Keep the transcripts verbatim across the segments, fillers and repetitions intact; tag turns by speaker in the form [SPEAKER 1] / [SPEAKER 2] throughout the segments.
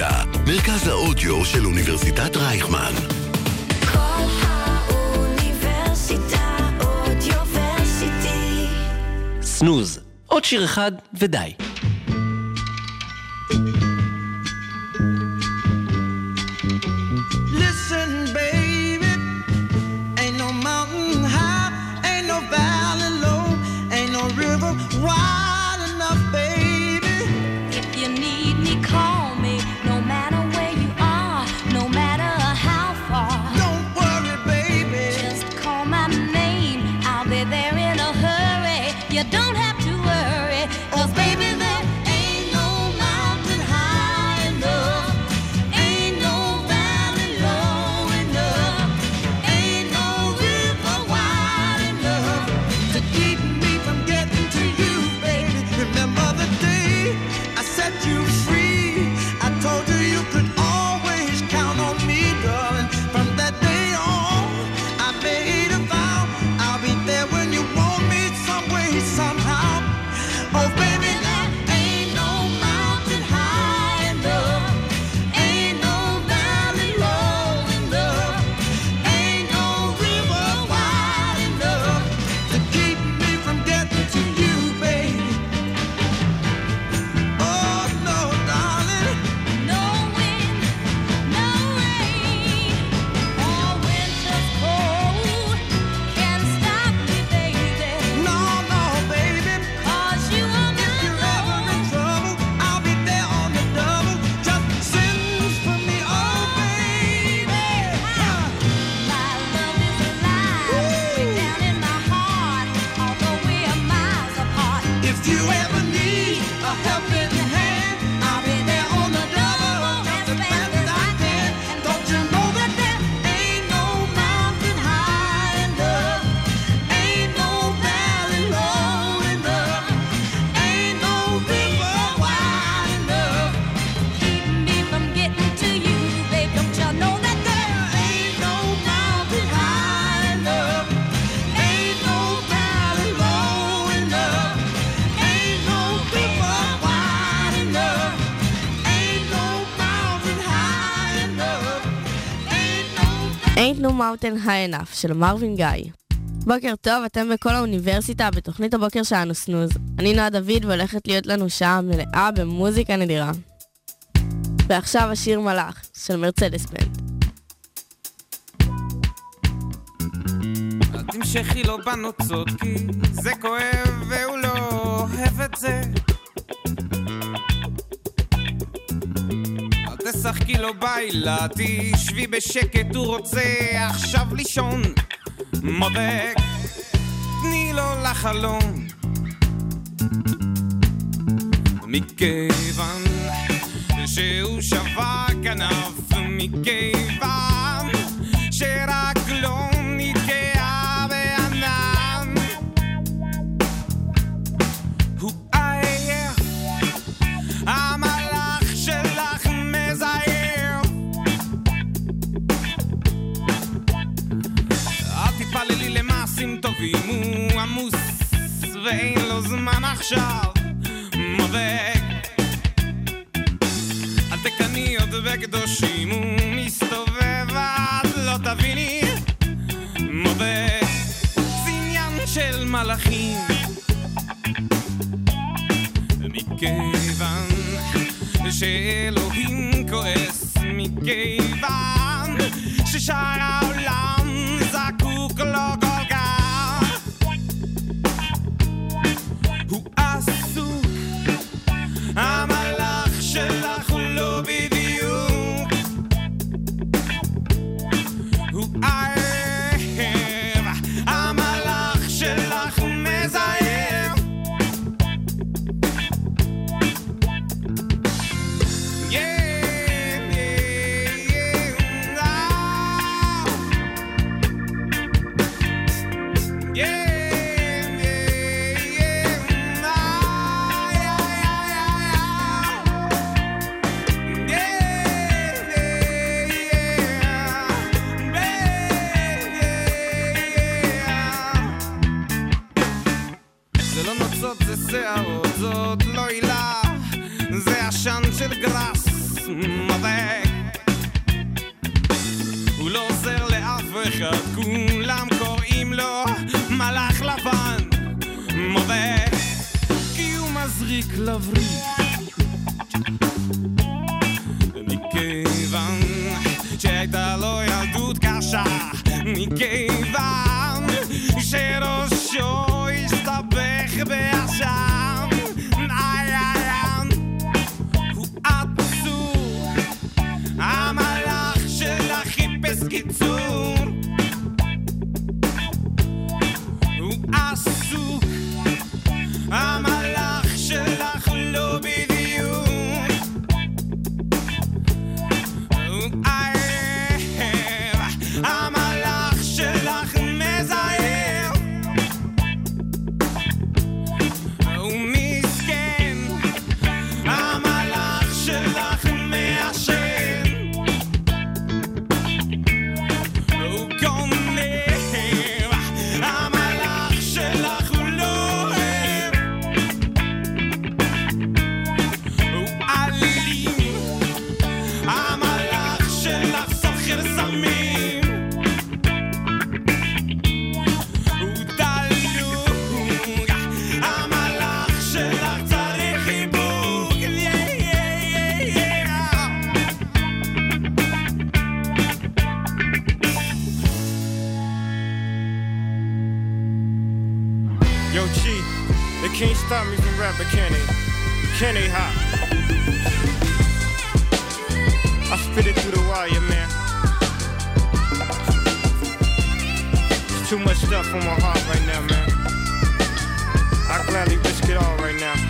[SPEAKER 1] האוניברסיטה, מרכז האודיו של אוניברסיטת רייכמן.
[SPEAKER 2] כל האוניברסיטה אודיוורסיטי.
[SPEAKER 3] סנוז, עוד שיר אחד ודי.
[SPEAKER 4] Listen, baby, ain't no mountain high, ain't no valley low, ain't no river wide enough, baby.
[SPEAKER 2] If you need me, call me, no matter where you are, no matter how far.
[SPEAKER 4] Don't worry, baby,
[SPEAKER 2] Just call my name, I'll be there in a hurry. You don't have to worry, 'cause baby, there ain't no mountain high enough, ain't no valley low enough, ain't no river wide enough
[SPEAKER 4] to keep me from getting to you, baby. Remember the day I set you free, I told you you could always count on me, darling. From that day on, I made a vow, I'll be there when you want me, some way, somehow. Oh baby, there ain't no mountain high enough, ain't no valley low enough, ain't no river wide enough to keep me from getting to you, baby. Oh no, darling,
[SPEAKER 2] No wind, no rain, or winter's cold can stop me, baby.
[SPEAKER 4] no, no, baby.
[SPEAKER 2] 'Cause you are
[SPEAKER 4] If
[SPEAKER 2] my
[SPEAKER 4] you're ever in
[SPEAKER 2] love.
[SPEAKER 4] trouble, I'll be there on the double. Just send for me, oh baby.
[SPEAKER 2] My love is alive, way down in my heart, although we are miles apart.
[SPEAKER 4] If you ever need a helping hand, I'll be there on the double, just as fast as I can. Don't you know that there ain't no mountain high enough, ain't no valley low enough, ain't no river wide enough.
[SPEAKER 2] Keep me from getting to you, babe. Don't you know that there
[SPEAKER 4] Ain't no mountain high enough, ain't no valley low enough, ain't no river wide enough, ain't no mountain high enough, ain't no
[SPEAKER 5] Ain't No Mountain High Enough של מרווין גאי. בוקר טוב, אתם בכל האוניברסיטה בתוכנית הבוקר שלנו סנוז. אני נועה דוד והולכת להיות לנו שעה מלאה במוזיקה נדירה. ועכשיו השיר מלאך של מרצדס בנד.
[SPEAKER 6] אל תמשכי לו בנוצות כי זה כואב והוא לא אוהב את זה. אל תשחקי לו בילה, תשבי בשקט, הוא רוצה עכשיו לישון. מודק, תני לו לחלום, מכיוון שהוא שווה כנף, מכיוון שרק לא נתקעה בענן. הוא עייף, המלאך שלך מזייף. אל תתפללי למעשים טובים, הוא עמוס ואין לו זמן עכשיו. מודק, אל תקני עוד בקדושים, הוא מסתובב עד לא תביני. מודק, זה עניין של מלאכים, מכיוון שאלוהים כועס, מכיוון ששאר העולם זקוק לו כל כך. הוא עסוק, המלאך שלך הוא לא בדיוק. הוא עייב, המלאך שלך הוא מזייף. Yeah, yeah, yeah, ah. Yeah. שערות, זאת לא עילה, זה עשן של גרס, מודה הוא לא עוזר לאף אחד כולם קוראים לו מלאך לבן מודה כי הוא מזריק לבריק מכיוון שהייתה לו ילדות קשה מכיוון שראשו הסתבך בעשן איי איי הוא עצור המלאך שלה חיפש קיצור הוא עסוק המלאך שלך לא בדיוק הוא עייב המלאך שלך מזהר הוא מסכן המלאך שלך מעשן הוא גונב המלאך שלך הוא לא אוהב הוא אלים המלאך שלך סוחר סמים הוא דלוק המלאך שלך צריך חיבוק
[SPEAKER 7] Yo, G, they can't stop me from rapping, can they? Can they, hot? I spit it through the wire, man. There's too much stuff on my heart right now, man. I gladly risk it all right now.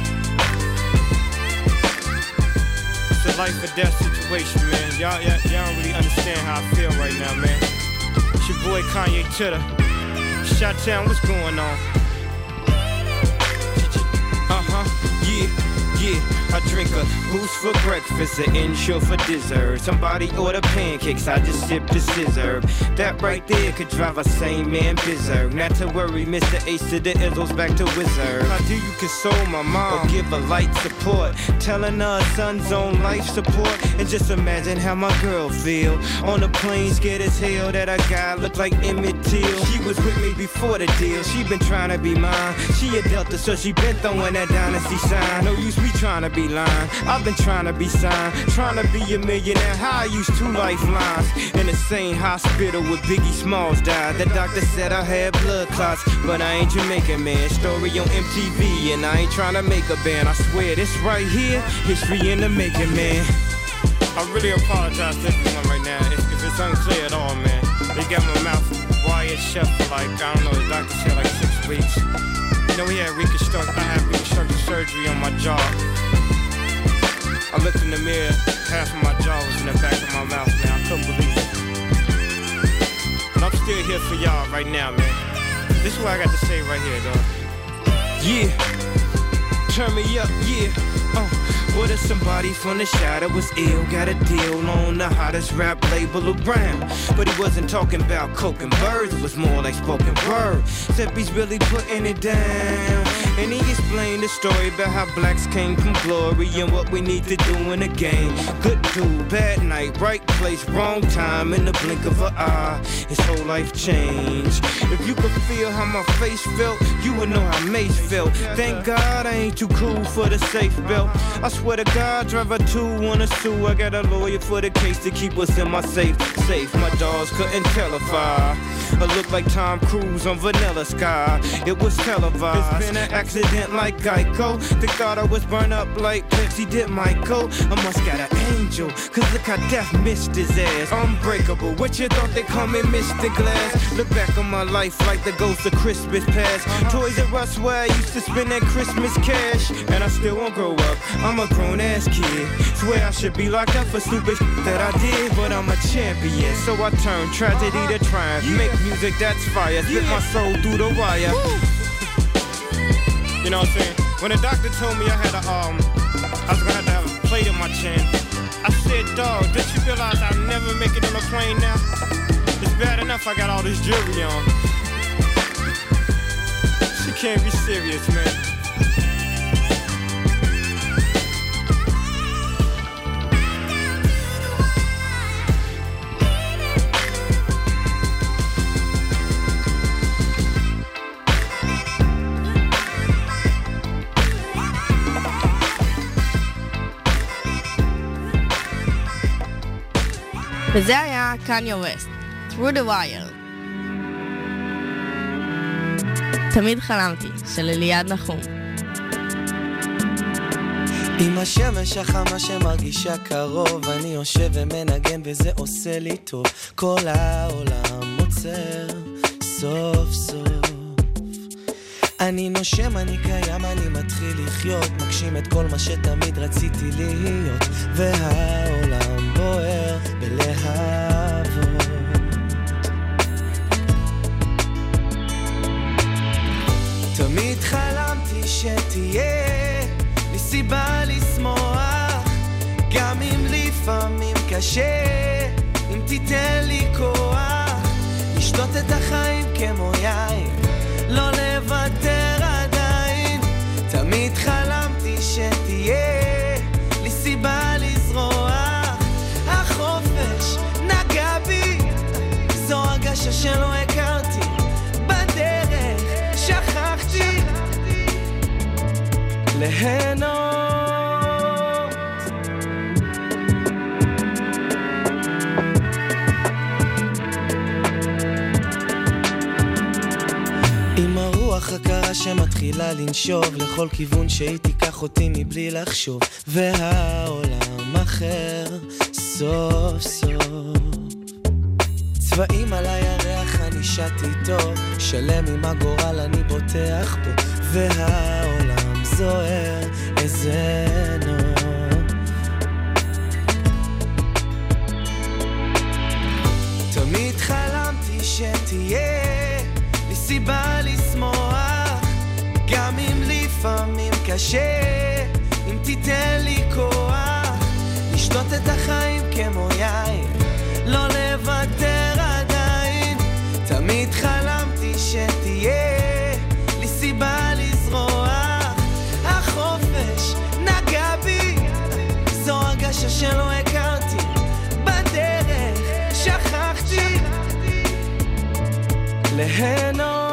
[SPEAKER 7] It's a life or death situation, man. Y'all, y'all, y'all don't really understand how I feel right now, man. It's your boy Kanye Titter. Shot-town, what's going on? Uh-huh, yeah, yeah. I drink a boost for breakfast, an insure for dessert. Somebody order pancakes, I just sip the scissor. That right there could drive a sane man berserk. Not to worry, Mister Ace to the Izzles back to Wizard. How do you console my mom or give her light support? Telling her son's on life support. And just imagine how my girl feel on the plane, scared as hell that a guy looked like Emmett Till. She was with me before the deal, she been trying to be mine. She a Delta, so she been throwing that dynasty sign. No use me trying to be lying, I've been trying to be signed, trying to be a millionaire. How I used two lifelines in the same hospital where Biggie Smalls died. The doctor said I had blood clots, but I ain't Jamaican, man. Story on M T V, and I ain't trying to make a band. I swear this right here, history in the making, man. I really apologize to everyone right now if, if it's unclear at all, man. They got my mouth wired shut for like, I don't know, the doctor said like six weeks. You know, he had reconstruct, I had reconstructive surgery on my jaw. I looked in the mirror, half of my jaw was in the back of my mouth, man. I couldn't believe it. But I'm still here for y'all right now, man. This is what I got to say right here, dog. Yeah, turn me up, yeah. Uh, what if somebody from the shadow was ill, got a deal on the hottest rap label around? But he wasn't talking about coke and birds, it was more like spoken word. Except he's really putting it down. And he explained the story about how blacks came from glory and what we need to do in the game. Good dude, bad night, right place, wrong time, in the blink of an eye, his whole life changed. If you could feel how my face felt, you would know how Mace felt. Thank God I ain't too cool for the safe belt. I swear to God, driver two wanna sue. I got a lawyer for the case to keep us in my safe. Safe, my dogs couldn't tell if I I look like Tom Cruise on Vanilla Sky. It was televised. It's been an accident like Geico. They thought I was burned up like Pepsi did Michael. I must got an angel, cause look how death missed his ass. Unbreakable, what you thought they call me Mister Glass? Look back on my life like the ghost of Christmas past. Toys R Us where I used to spend that Christmas cash. And I still won't grow up, I'm a grown ass kid. Swear I should be locked up for stupid shit that I did. But I'm a champion, so I turn tragedy to triumph. Make music that's fire, spit my soul through the wire. You know what I'm saying? When the doctor told me I had a, um, I was gonna have to have a plate in my chin, I said, dog, did you realize I'll never make it on a plane now? It's bad enough I got all this jewelry on. She can't be serious, man.
[SPEAKER 5] וזה היה קניה ווסט, Through the Wire. תמיד חלמתי, של אליעד נחום.
[SPEAKER 8] עם השמש החמה שמרגישה קרוב, אני יושב ומנגן וזה עושה לי טוב. כל העולם עוצר סוף סוף. אני נושם, אני קיים, אני מתחיל לחיות, מגשים את כל מה שתמיד רציתי להיות, והעולם בוער בלהבות. תמיד חלמתי שתהיה לי סיבה לשמוח, גם אם לפעמים קשה, אם תיתן לי כוח לשתות את החיים כמו יין, לא לוותר עדיין. תמיד חלמתי שתהיה לי סיבה לזרוח, החופש נגע בי, זו הרגשה שלא הכרתי, בדרך שכחתי ליהנות. עם הרוח הקרה שמתחילה לנשוב לכל כיוון שהיא תיקח אותי מבלי לחשוב, והעולם אחר סוף סוף. צבעים על הירח אני שתי טוב, שלם עם הגורל אני בוטח בו, והעולם זוהר איזה נוף. תמיד חלמתי שתהיה לי סיבה לשמוח, גם אם לפעמים קשה, אם תיתן לי כוח לשתות את החיים כמו יין, לא לוותר עדיין. תמיד חלמתי שתהיה לי סיבה לזרוח, החופש נגע בי, זו הרגשה שלא הכרתי, בדרך שכחתי ליהנות.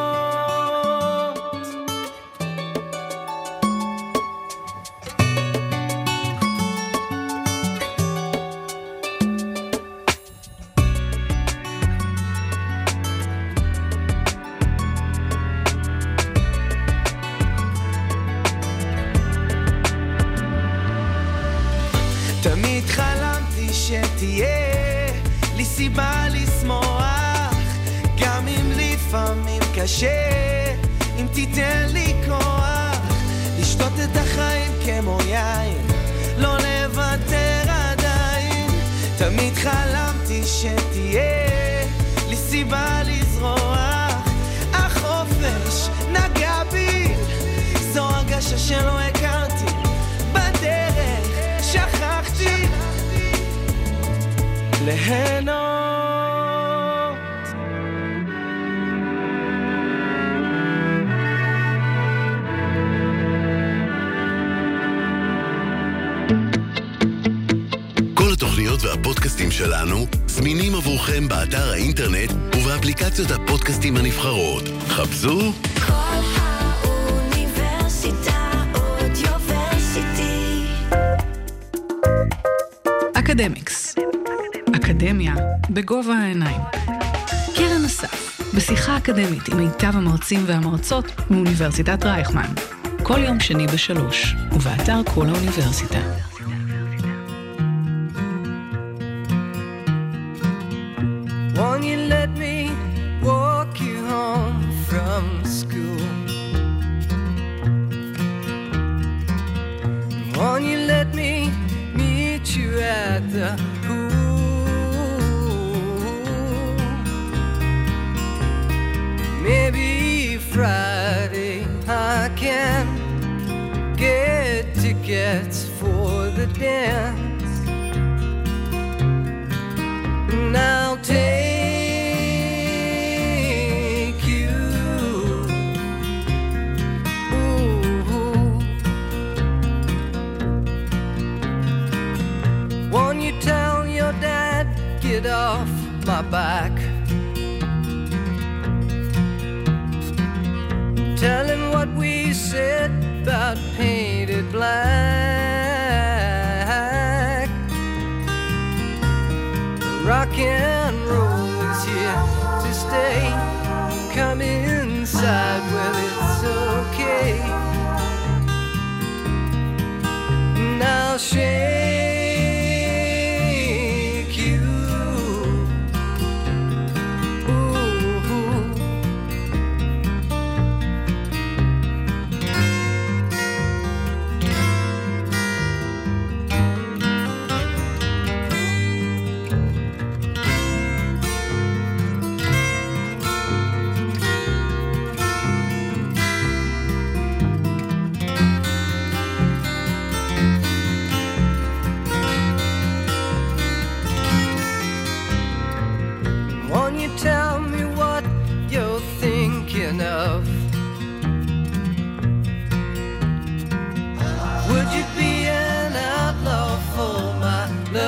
[SPEAKER 8] תמיד חלמתי שתהיה לי סיבה לשמוח, גם אם לפעמים קשה, אם תיתן לי כוח לשתות את החיים כמו יין, לא לוותר עדיין. תמיד חלמתי שתהיה לי סיבה לזרוח, החופש נגע בי, זו הרגשה שלא הכרתי, בדרך שכחתי ליהנות.
[SPEAKER 1] כל התוכניות והפודקאסטים שלנו זמינים עבורכם באתר האינטרנט ובאפליקציות הפודקאסטים הנבחרות. חפשו
[SPEAKER 2] כל האוניברסיטה אודיוורסיטי.
[SPEAKER 9] אקדמיקס, אקדמיה בגובה העיניים. קרן אסף, בשיחה אקדמית עם מיטב המרצים והמרצות מאוניברסיטת רייכמן. כל יום שני בשלוש, ובאתר כל האוניברסיטה.
[SPEAKER 8] Won't you let me walk you home from school? Won't you let me meet you at the pool? Maybe Friday I can get tickets for the dance, and I'll take you. Ooh. Won't you tell your dad, get off my back? Tell him what we said about painted black. Rock shake you. Ooh. Won't you tell me what you're thinking of? Would you be an outlaw for my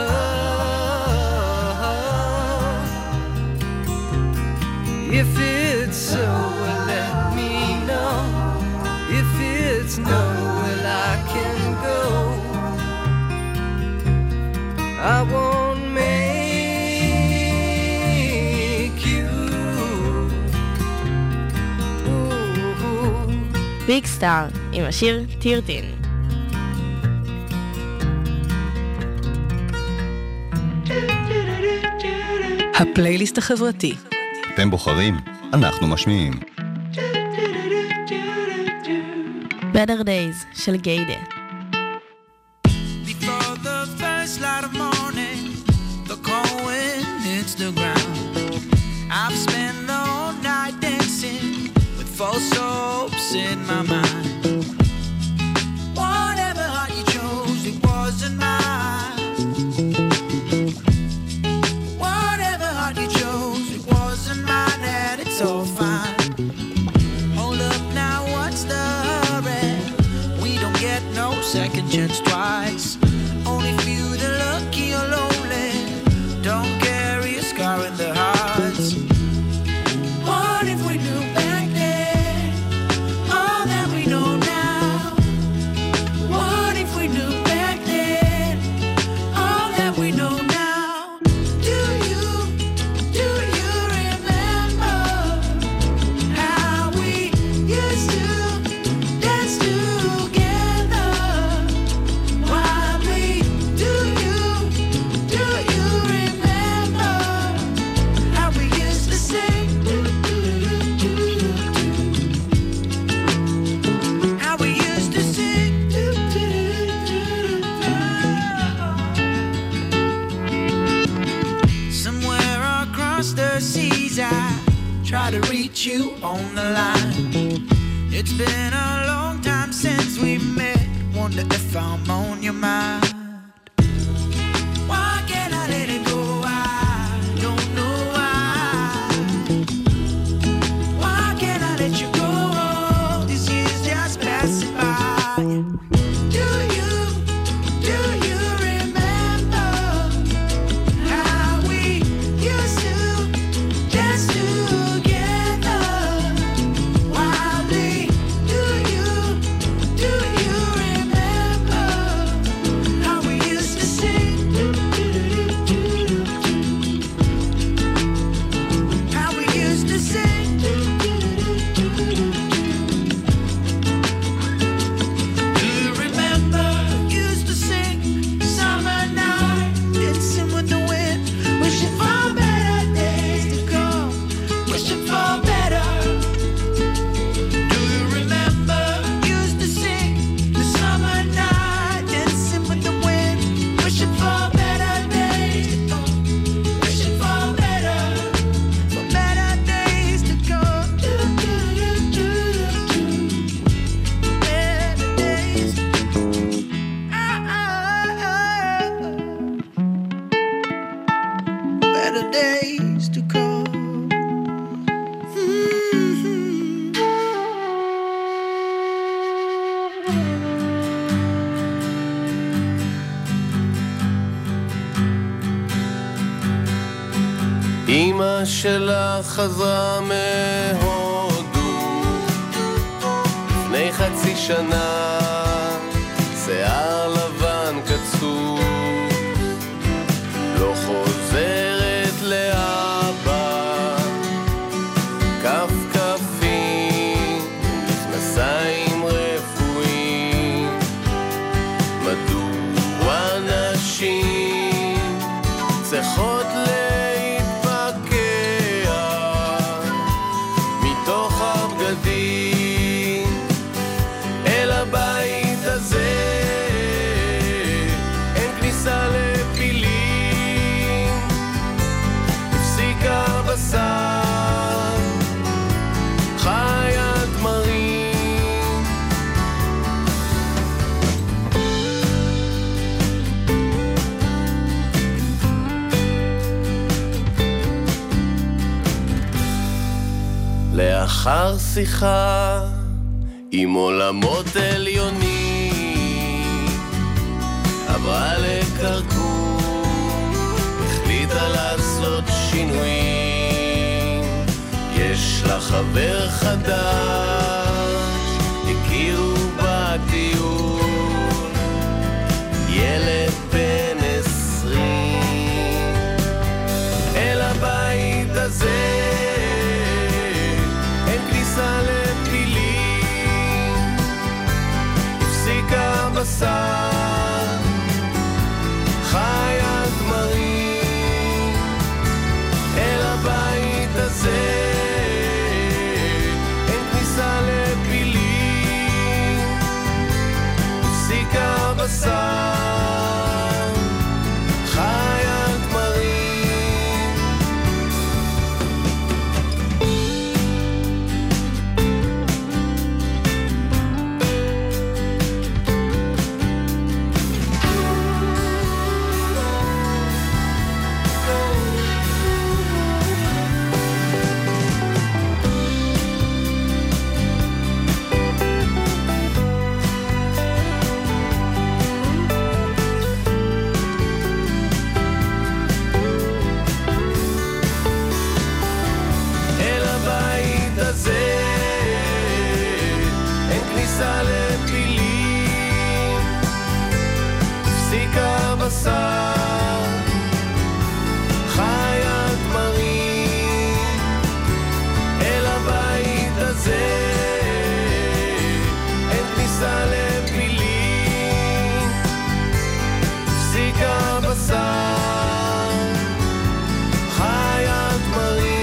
[SPEAKER 8] love? If it's so, well, let me know. If it's no, well, I can go. I won't make you. Ooh.
[SPEAKER 5] ביג סטאר עם השיר טירטין.
[SPEAKER 9] הפלייליסט החברתי.
[SPEAKER 10] אתם בוחרים, אנחנו משמיעים.
[SPEAKER 5] Better Days של גיידה.
[SPEAKER 4] Before the first light of morning, the cold wind hits the ground. I've spent the whole night dancing with false hopes in my mind. Whatever heart you chose, it wasn't mine. Whatever heart you chose, it wasn't mine, and it's all fine. Hold up now, what's the hurry? We don't get no second chance twice. Only few the lucky or lonely don't carry a scar in their hearts. What if we knew back then all that we know now? What if we knew back then all that we know now? Do you, do you remember how we used to dance together? While we, do you, do you remember how we used to sing? How we used to sing. Somewhere across the seas, I try to reach you on the line. It's been a long time since we met. Wonder if I'm on your mind. Why can't I let it go? I don't know why. Why can't I let you go? All these years just passing by. Do you, do you remember how we used to dance together? Wildly, do you, do you remember how we used to sing? How we used to sing. Do you remember? Used to sing summer night, dancing with the wind, wishing for better days to come, wishing for better. Do you remember? Used to sing the summer night, dancing with the wind, wishing for better days to come, wishing for better, for better days to come. Do, do, do, do, do. Better days. Ah, ah, ah. Better days to come. Mm-hmm.
[SPEAKER 3] אמא שלך חזרה מהודו לפני חצי שנה, שיער לבן קצור, לא חוזרת לאבא, כף כפים, מכנסיים רפואיים, מדוע אחר שיחה עם עולמות עליונים, עברה לקרקום, החליטה לעשות שינויים. יש לה חבר חדש, הכירו בטיול, ילד בן עשרים. אל הבית הזה אין כניסה לפילים, הפסיקה מסע חי הגמרים. אל הבית הזה אין כניסה לפילים, הפסיקה מסע חי הגמרים. לפילים, הפסיקה מסע חי הגמרים. אל הבית הזה אין כניסה לפילים, הפסיקה מסע חי הגמרים.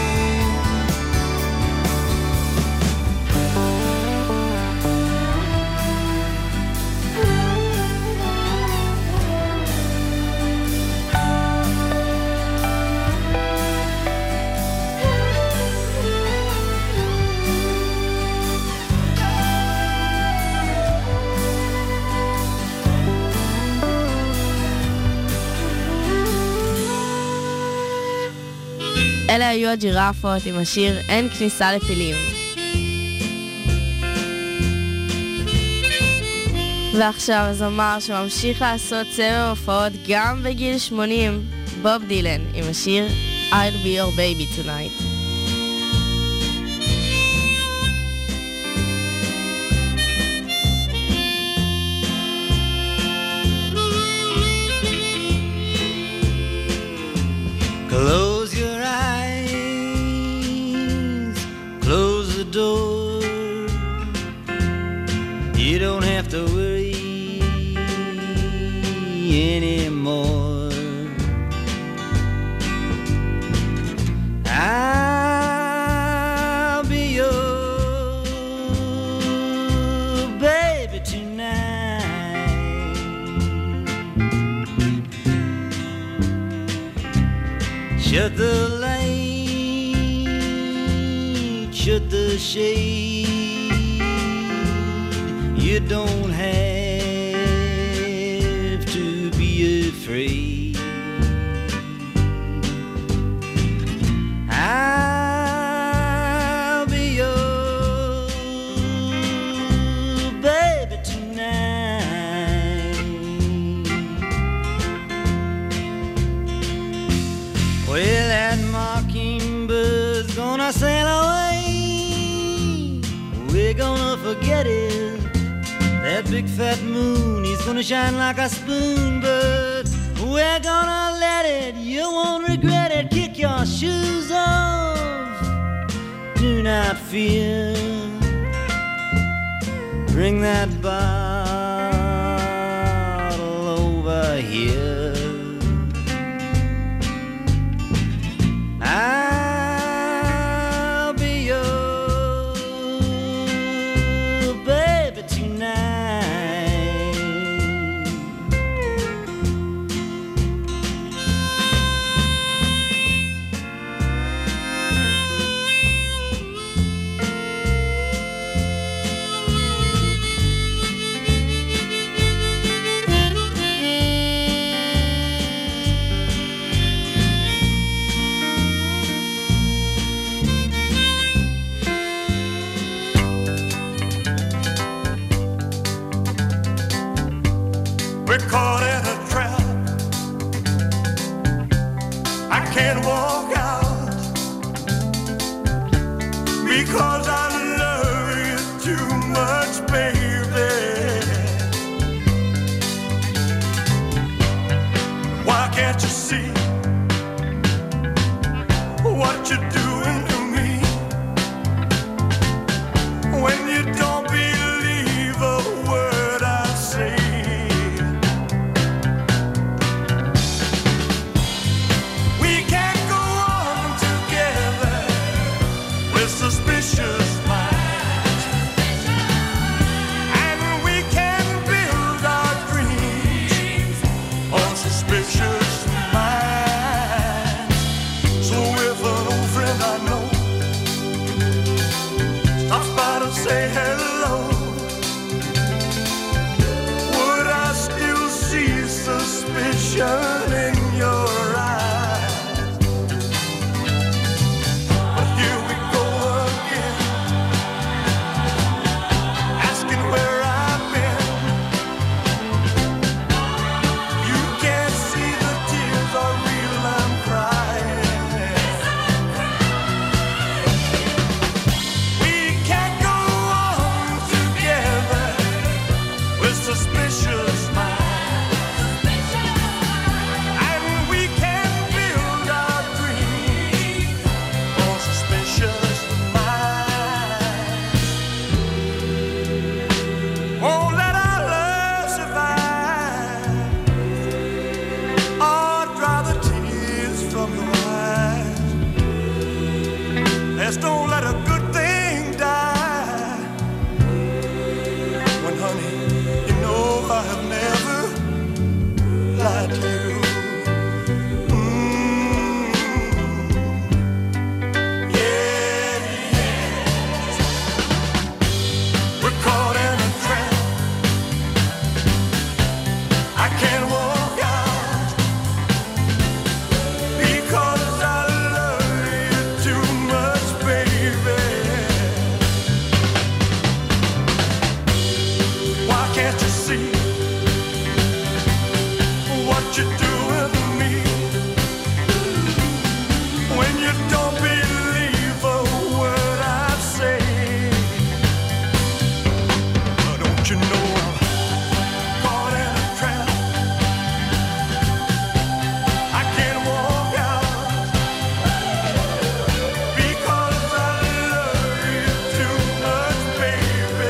[SPEAKER 5] אלה היו הג'ירפות עם השיר אין כניסה לפילים. ועכשיו הזמר שממשיך לעשות סבב הופעות גם בגיל שמונים, בוב דילן עם השיר I'll be your baby tonight.
[SPEAKER 8] Close your eyes, close the door. You don't have to worry anymore. I'll be your baby tonight. Shut the light, shut the shade. You don't have to be afraid. I'll be your baby tonight. Well, that mockingbird's gonna sail away. We're gonna forget it. That big fat moon is gonna shine like a spoon, but we're gonna let it. You won't regret it. Kick your shoes off. Do not fear. Bring that bottle over here. I'll be your baby tonight.
[SPEAKER 4] see what you do with me when you don't believe a word I say. Don't you know I'm caught in a trap? I can't walk out because I love you too much, baby.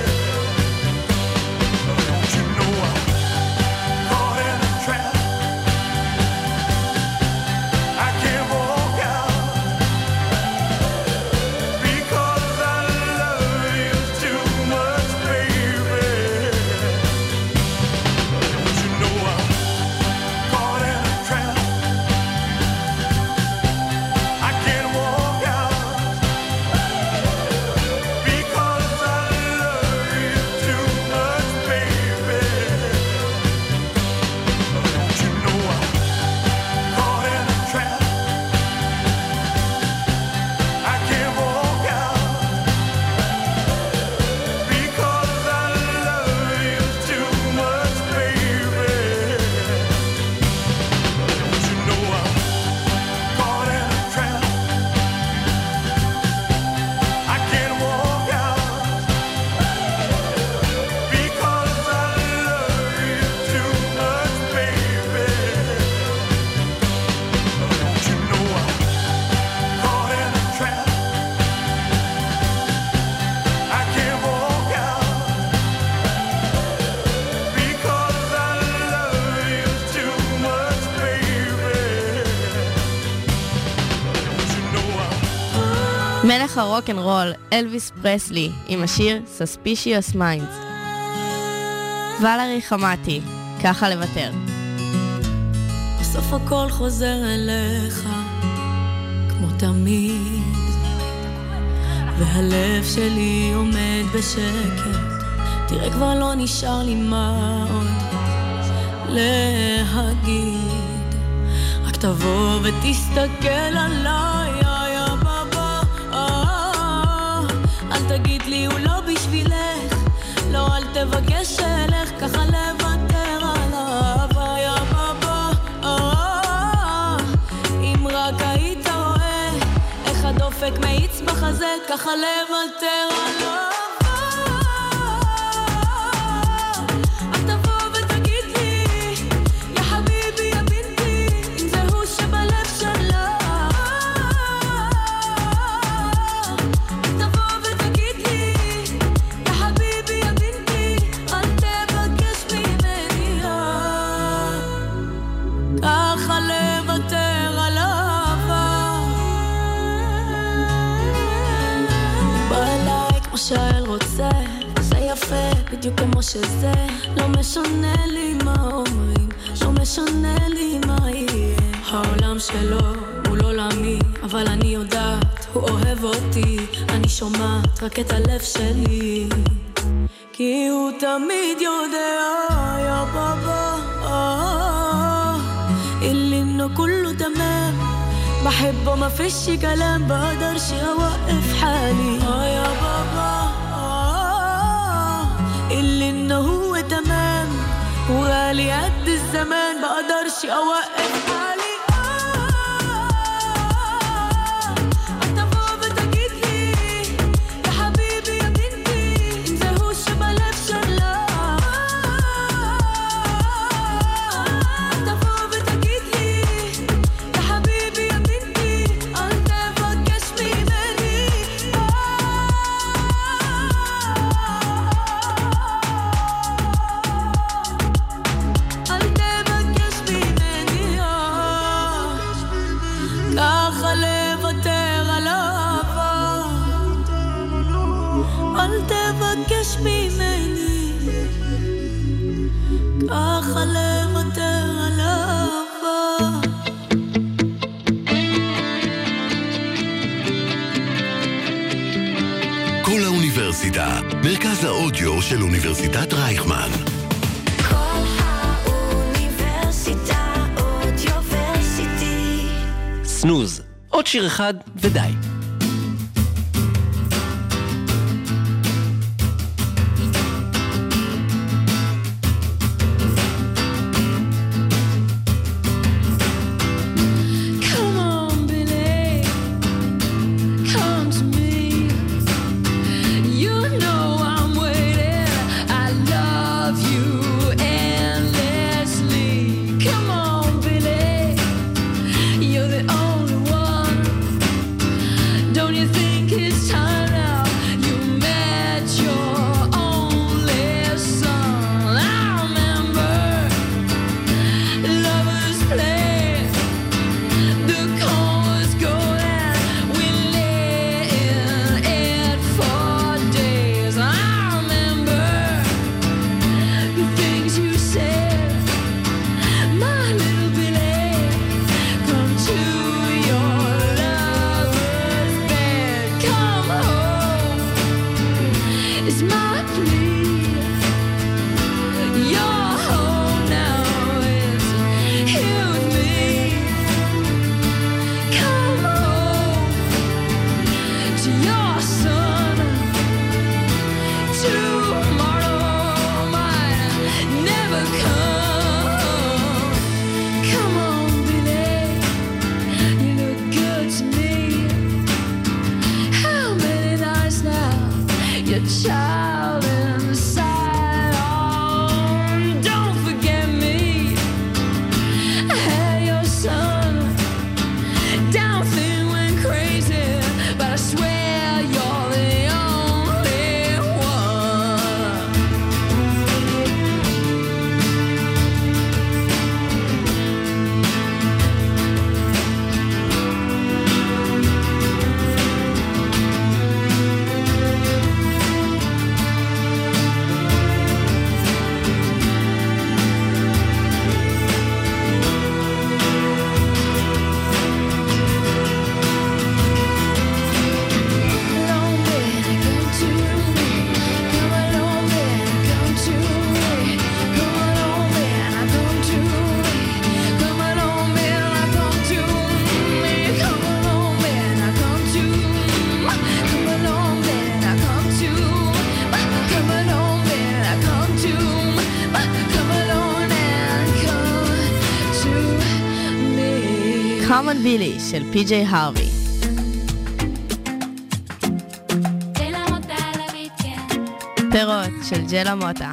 [SPEAKER 4] Don't you know I'm caught in a trap? I can't walk out because I love you too much, baby. Don't you know I'm caught in a trap? I can't walk out because I love you too much, baby. Don't you know I'm caught in a trap? I can't walk out because I love you too much, baby. Don't you know I'm caught in a trap? I can't walk out because I love you too much, baby. Don't you know I'm caught in a trap? I can't walk out because I love you too much, baby. Don't you know I'm
[SPEAKER 5] מלך הרוק'נ'רול, אלוויס פרסלי, עם השיר Suspicious Minds. ולרי חמאטי, ככה לוותר.
[SPEAKER 11] בסוף הכל חוזר אליך, כמו תמיד, והלב שלי עומד בשקט, תראה כבר לא נשאר לי מה עוד להגיד, רק תבוא ותסתכל עליי, יא בבא, אל תגיד לי הוא לא בשבילך, לא אל תבקש אלך, ככה לוותר עליו, יא בבא, אם רק היית רואה איך הדופק מאיץ בחזה, ככה לוותר עליו. אל תבוא ותגיד לי, יא חביבי, יא בינתי, אם זה הוא שבלב שלך. אל תבוא ותגיד לי, יא חביבי, יא בינתי, אל תבקש ממני, ככה לוותר עליו. בא אליי כמו שהאל רוצה, זה יפה בדיוק כמו שזה, לא משנה לי מה אומרים, לא משנה לי מה יהיה, העולם שלו מול עולמי, אבל אני יודעת הוא אוהב אותי, אני שומעת רק את הלב שלי, כי הוא תמיד יודע, יא בבא, اللي انه كله تمام بحبه ما فيش كلام بقدرش اوقف حالي اه يا بابا آه اللي انه هو تمام وغالي قد الزمان بقدرش اوقف حالي
[SPEAKER 1] כל האוניברסיטה, מרכז האודיו של אוניברסיטת רייכמן.
[SPEAKER 2] כל האוניברסיטה אודיוורסיטי.
[SPEAKER 12] סנוז, עוד שיר אחד ודי.
[SPEAKER 11] please. Your home now is here with me. Come home to your son. Tomorrow might never come. Come on, Billy, you look good to me. How many nights now your child inside? Oh, don't forget me. I had your son. Down thing went crazy, but I swear you're the only one.
[SPEAKER 5] Come on Billy של פי ג'יי הרווי. פירות של ג'לה מוטה.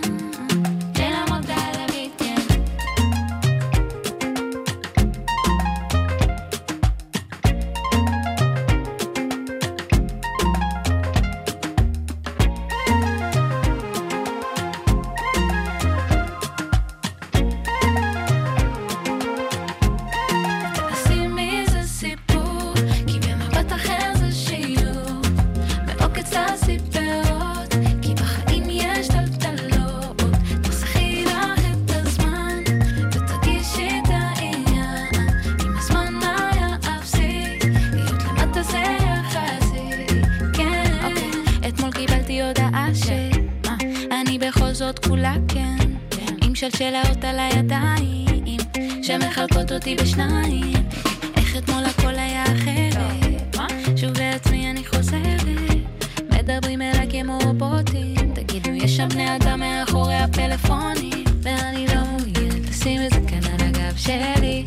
[SPEAKER 11] עושים מזה סיפור, כי במבט אחר זה שיעור. מעוקץ הסיפרות, כי בחיים יש טלטלות. תחסכי לך את הזמן, ותרגישי את העניין. אם הזמן היה אפסי, להיות למטה זה יחסי. כן, אתמול קיבלתי הודעה שמה, אני בכל זאת כולה כן. עם שלשלאות על הידיים שמחלקות אותי בשניים. איך אתמול הכל היה אחרת, שוב בעצמי אני חוזרת. מדברים אליי כמו רובוטים, תגידו יש שם בני אדם מאחורי הפלאפונים, ואני לא מעוניינת לשים את זה כאן על הגב שלי.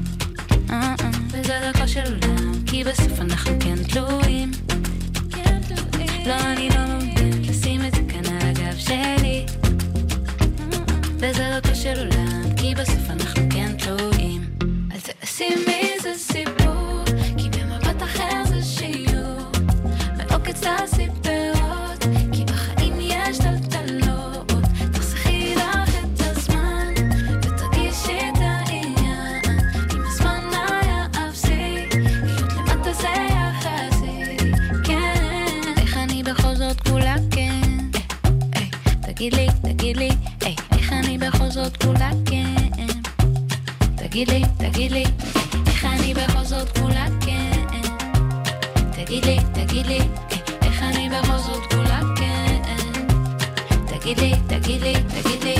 [SPEAKER 11] וזה דרכו של עולם, כי בסוף אנחנו כן תלויים. לא, אני לא מעוניינת לשים את זה כאן על הגב שלי. וזה דרכו של עולם, כי בסוף אנחנו כן תלויים. אל תעשי מזה סיפור, כי במבט אחר זה שיעור. מעוקץ הסיפרות, כי בחיים יש טלטלות. תחסכי לך את הזמן, ותרגישי את העניין. אם הזמן היה אפסי, להיות למטה זה יחסי. כן, איך אני בכל זאת כולה כן. תגיד לי, תגיד לי, איך אני בכל זאת כולה כן. תגיד לי, תגיד לי, איך אני בכל זאת כולה כן. תגיד לי, תגיד לי, איך אני בכל זאת כולה כן. תגיד לי, תגיד לי, תגיד לי,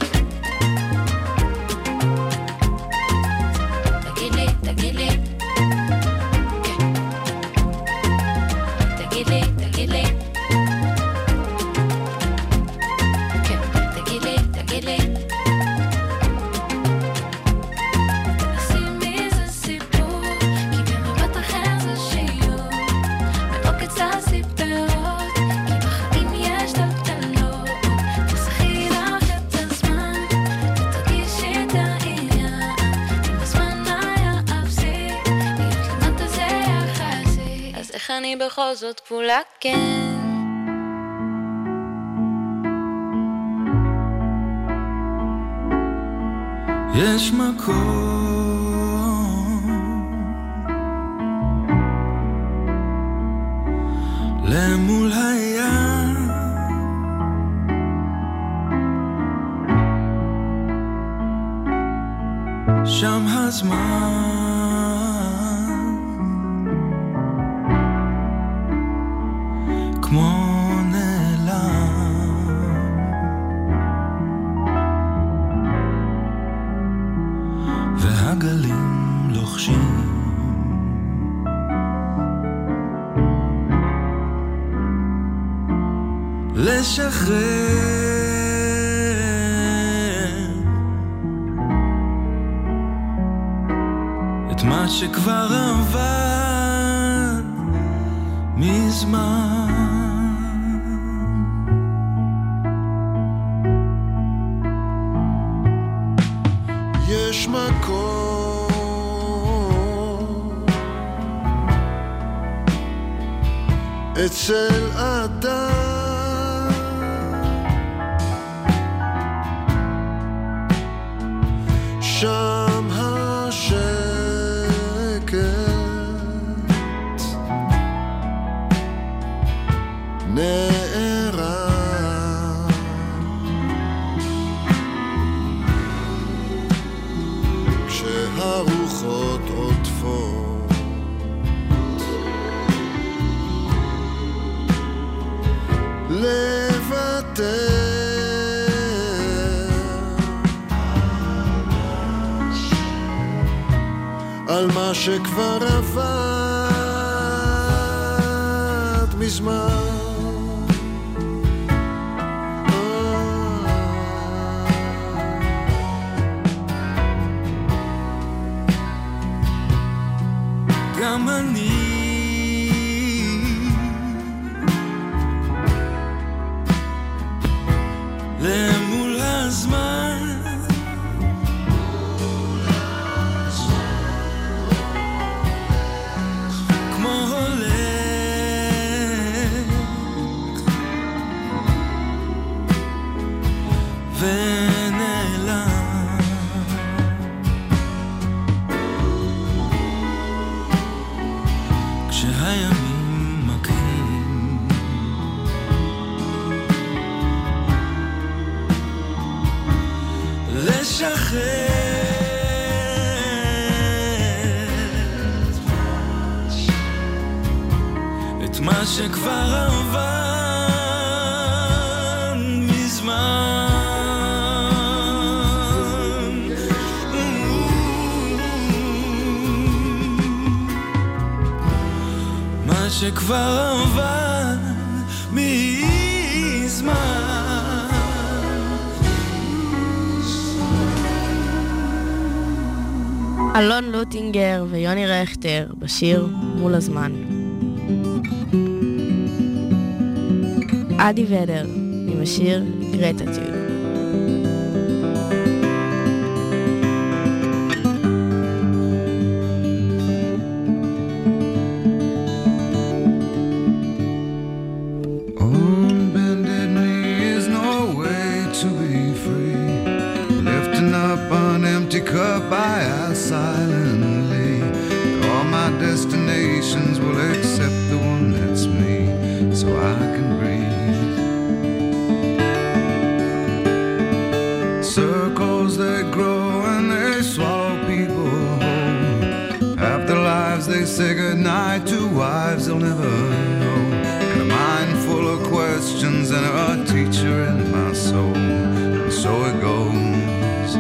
[SPEAKER 11] תגיד לי, תגיד לי, תגיד לי, תגיד לי, תגיד לי, תגיד לי. עושים מזה סיפור, כי במבט אחר זה שיעור. מעוקץ הסיפרות, כי בחיים יש טלטלות. תחסכי לך את הזמן, ותרגישי את העניין. אם הזמן היה אפסי, להיות למטה זה יחסי. אז איך אני בכל זאת כפולה כן.
[SPEAKER 13] יש מקום למול הים, שם הזמן כמו נעלם. את מה שכבר עבד מזמן.
[SPEAKER 3] יש מקום אצל אדם שם השקט נערם כשהרוחות עוטפות לוותר על מה שכבר עבד מזמן.
[SPEAKER 13] גם אני למול הזמן כמו הולך ונעלם כשהימים מכים לשחרר את מה שכבר עבד מזמן. מה שכבר עבד מזמן.
[SPEAKER 5] אלון לוטינגר ויוני רכטר בשיר מול הזמן. אדי ודר עם השיר גרטטיוד.
[SPEAKER 14] On bended knee is no way to be free. Lifting up an empty cup I ask silently. All my destinations will accept the one that's me, so I can breathe. Circles they grow and they swallow people whole. After lives they say goodnight to wives they'll never know. And a mind full of questions and a teacher in my soul. And so it goes.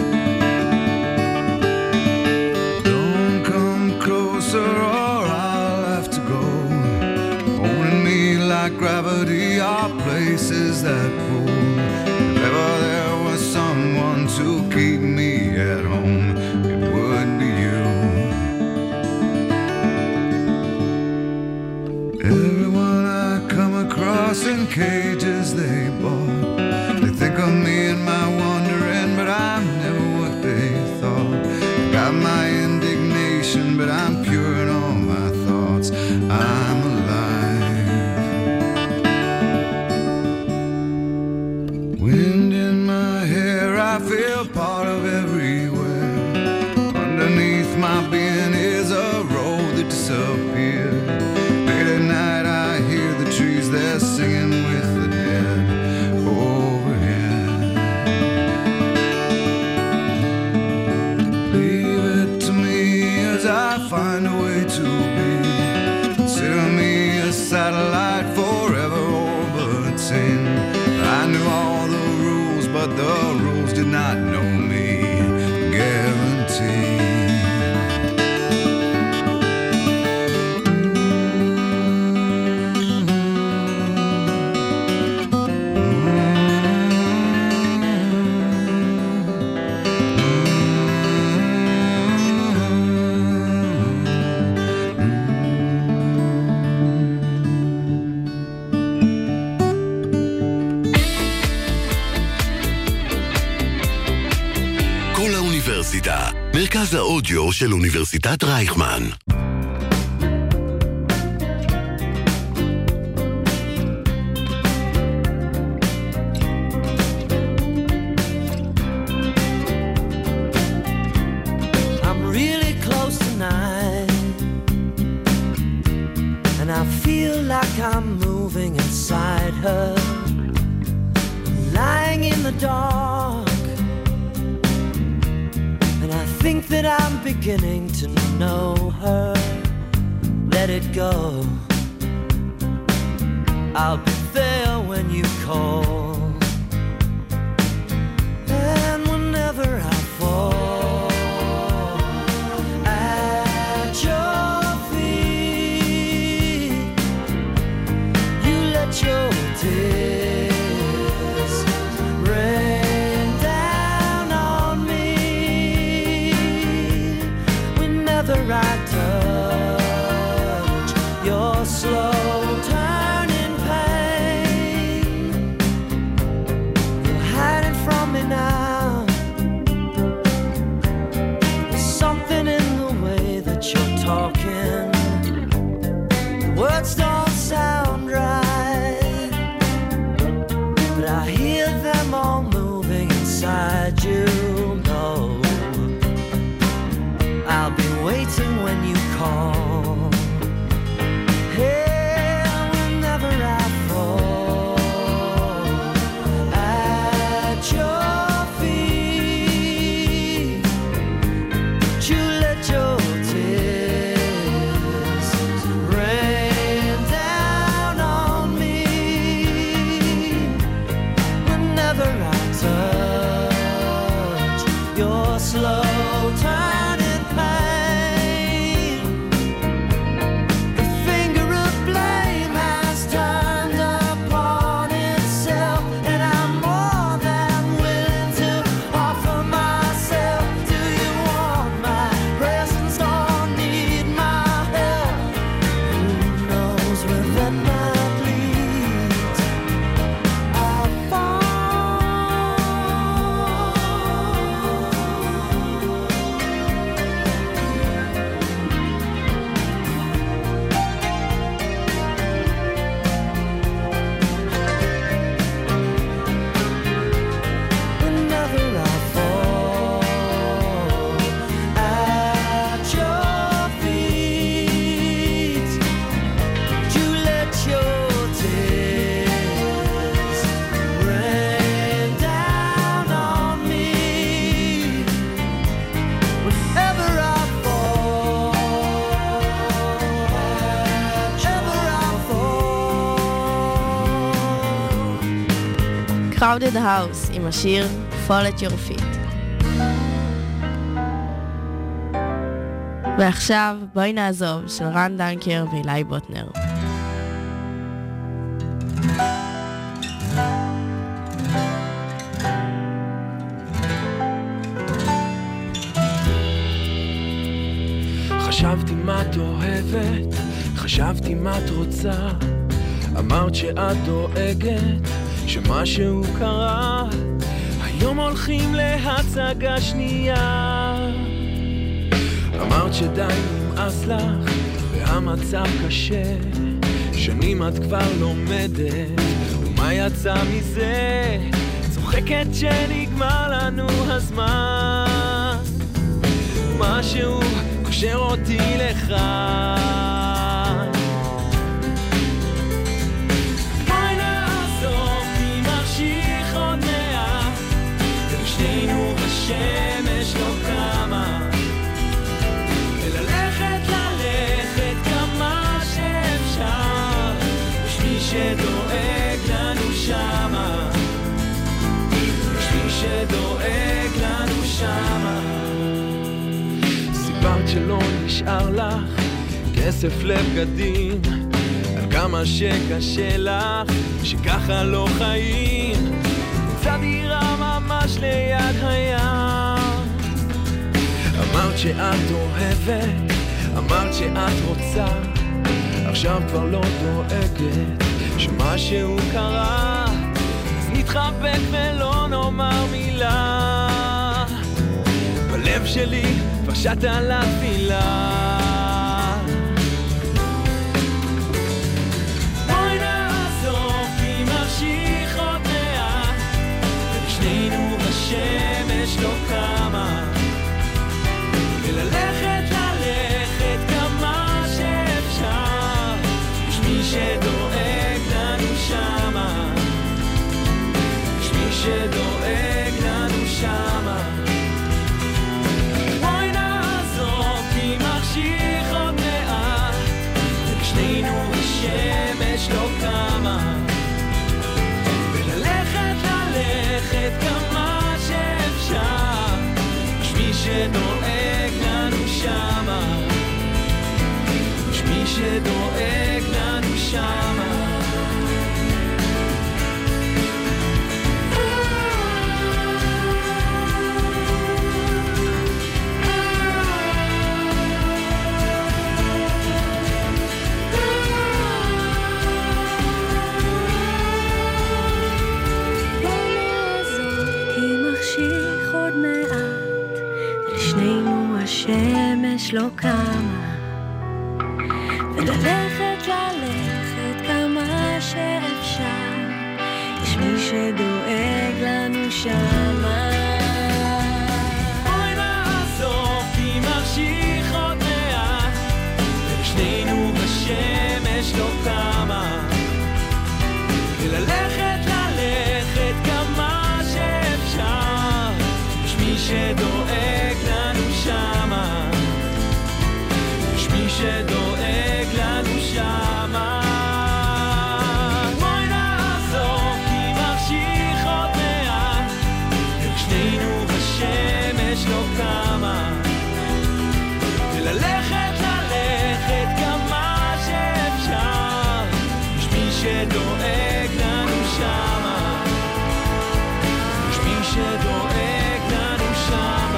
[SPEAKER 14] Don't come closer or I'll have to go. Holding me like gravity are places that pull. If ever there was someone to keep me at home, it would be you. Everyone I come across in cages they bought, they think of me and my wandering, but I'm never what they thought. Got my indignation, but I'm pure in all my thoughts. I'm alive. Wind in my hair, I feel part of everywhere. Underneath my being is a road that disappeared. Late at night I hear the trees, they're singing with the dead overhead. Leave it to me as I find a way to be. Consider me a satellite forever orbiting. I knew all the rules, but the rules did not know me. Guaranteed. Mm-hmm.
[SPEAKER 1] אוניברסיטה, מרכז האודיו של אוניברסיטת רייכמן.
[SPEAKER 8] I'm moving inside her, lying in the dark, and I think that I'm beginning to know her. Let it go, I'll be there when you call, and whenever I fall at your your tears rain down on me whenever I touch your slow turning pain. You're hiding from me now. There's something in the way that you're talking. The words don't sound right, I hear them all moving inside you. No, I'll be waiting when you call. Hey, whenever I fall at your feet, you let your tears rain down on me. Whenever I touch your slow turning pain, the finger of blame has turned upon itself, and I'm more than willing to offer myself. Do you want my presence? Don't need my help. Who knows where that might lead? I'll fall. Whenever I fall at your feet, you let your tears rain down on me. Whenever I fall, whenever I fall.
[SPEAKER 5] Crowded House עם השיר Fall at Your Feet. ועכשיו בואי נעזוב של רן דנקר ואילי בוטנר.
[SPEAKER 13] חשבתי מה את אוהבת, חשבתי מה את רוצה, אמרת שאת דואגת, שמשהו קרה, היום הולכים להצגה שנייה. אמרת שדי נמאס לך, והמצב קשה, שנים את כבר לומדת, ומה יצא מזה? צוחקת שנגמר לנו הזמן, משהו קושר אותי לך. בואי נעזוב, תמשיך עוד מעט, ושנינו השמש לא קמה, וללכת ללכת כמה שאפשר, יש מי שדואג לנו שמה, יש מי שדואג לנו שמה. סיפרת שלא נשאר לך כסף לבגדים, על כמה שקשה לך, שככה לא חיים, נמצא דירה ממש ליד הים. אמרת שאת אוהבת, אמרת שאת רוצה, עכשיו כבר לא דואגת, שמשהו קרה, אז נתחבק ולא נאמר מילה. בלב שלי כבר שתה לתפילה. בואי נעזוב כי ממשיך עוד מעט ושנינו השמש לא קמה וללכת ללכת כמה שאפשר יש מי שדואג לנו שמה יש מי שדואג לנו שמה בואי נעזוב כי מחשיך עוד מעט ושנינו השמש לא קמה וללכת ללכת כמה שאפשר יש מי שדואג לנו שמה יש מי שדואג לנו שמה
[SPEAKER 11] השמש לא קמה וללכת ללכת כמה שאפשר יש מי שדואג לנו שמה
[SPEAKER 13] בואי נעזוב כי מחשיך עוד מעט ושנינו השמש לא קמה וללכת ללכת כמה שאפשר יש מי שדואג לנו שמה יש מי שדואג לנו שמה בואי נעזוב כי מחשיך עוד מעט ושנינו השמש לא קמה וללכת ללכת כמה שאפשר יש מי שדואג לנו שמה יש מי שדואג לנו שמה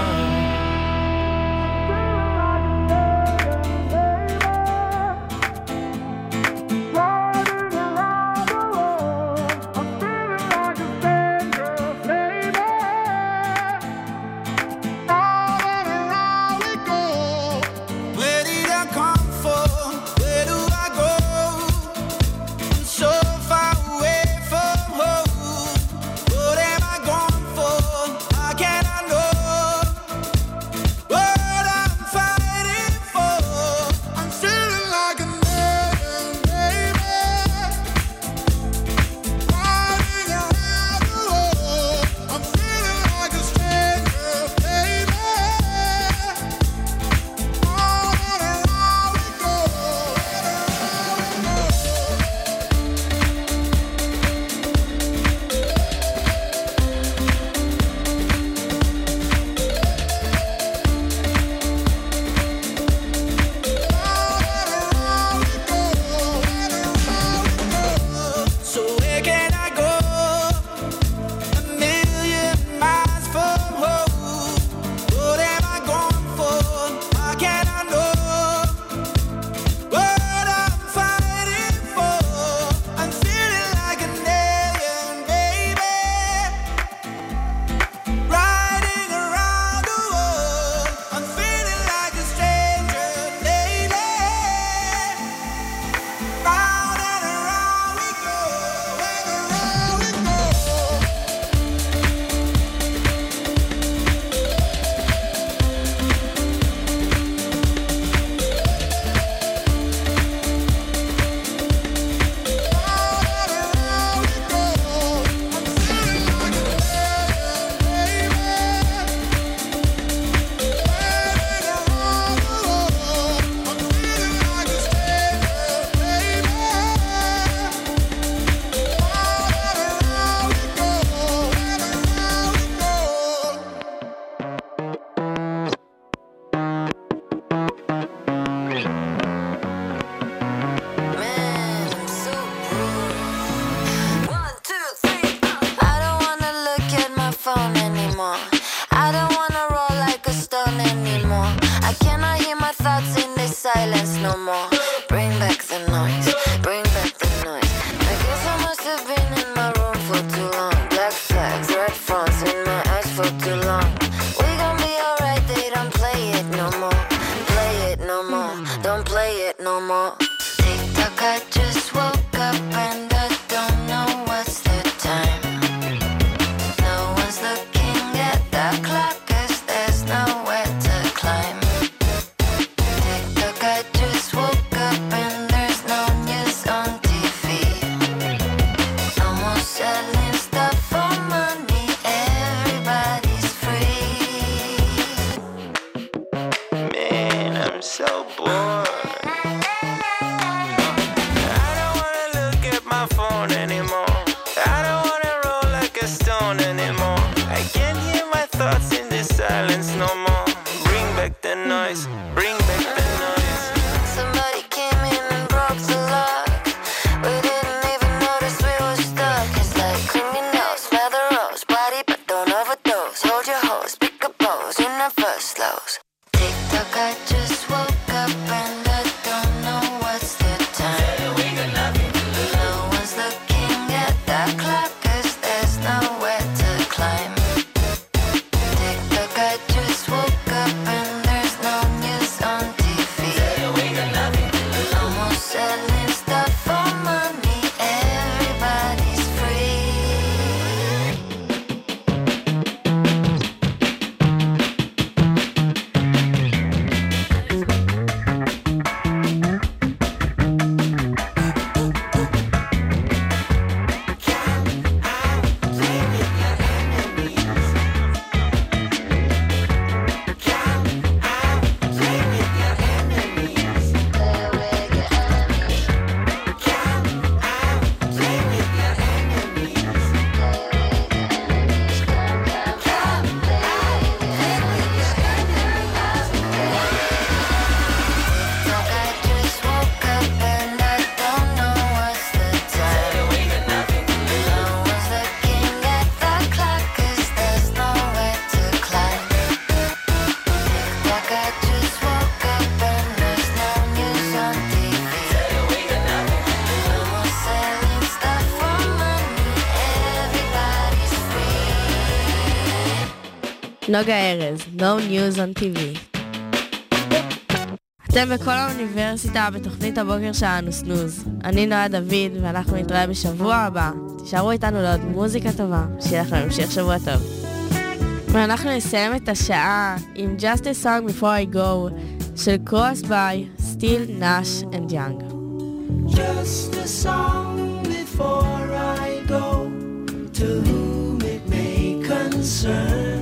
[SPEAKER 7] silence no more. Bring back the noise, bring back the noise.
[SPEAKER 11] Somebody came in and broke the lock. We didn't even notice we were stuck. It's like criminals, smell the rose, body but don't overdose. Hold your hose, pick a pose in the first slows. Tick tock, I just woke up and I don't know what's the time. No one's looking at that clock 'cause there's nowhere to climb. Tick tock, I just woke up and there's no news on T V. No more selling stuff for money, everybody's free.
[SPEAKER 5] נוגה ארז, No News on טי וי. אתם בכל האוניברסיטה בתוכנית הבוקר שלנו סנוז. אני נועה דוד ואנחנו נתראה בשבוע הבא. תישארו איתנו לעוד מוזיקה טובה, שיהיה לכם המשך שבוע טוב. ואנחנו נסיים את השעה עם Just a Song Before I Go של Cross by Steele, Nash and Young.
[SPEAKER 4] Just a song before I go, to whom it may concern.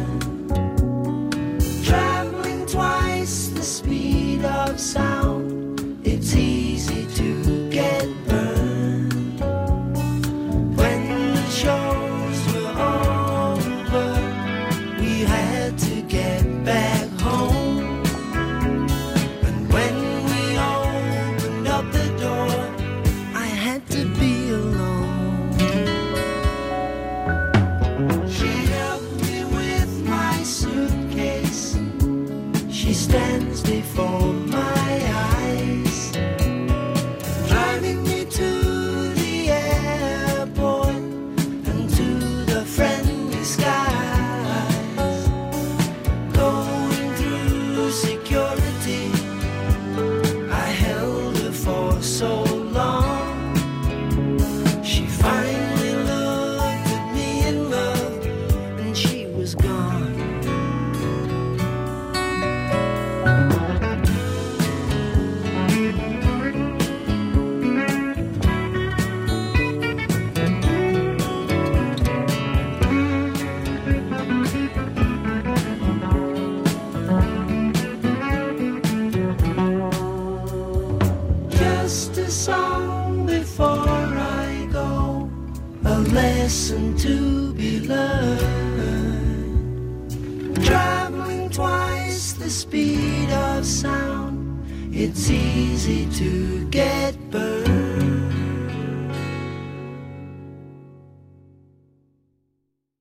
[SPEAKER 4] Traveling twice the speed of sound, it's easy to get burned. When the shows were over, we had to get back home. And when we opened up the door, I had to be alone. She helped me with my suitcase. She stands before my eyes, driving me to the airport and to the friendly skies. Going through security, I held her for so long. She finally looked at me in love, and she was gone. Just a song before I go, a lesson to be learned. Traveling twice the speed of sound, it's easy to get burned.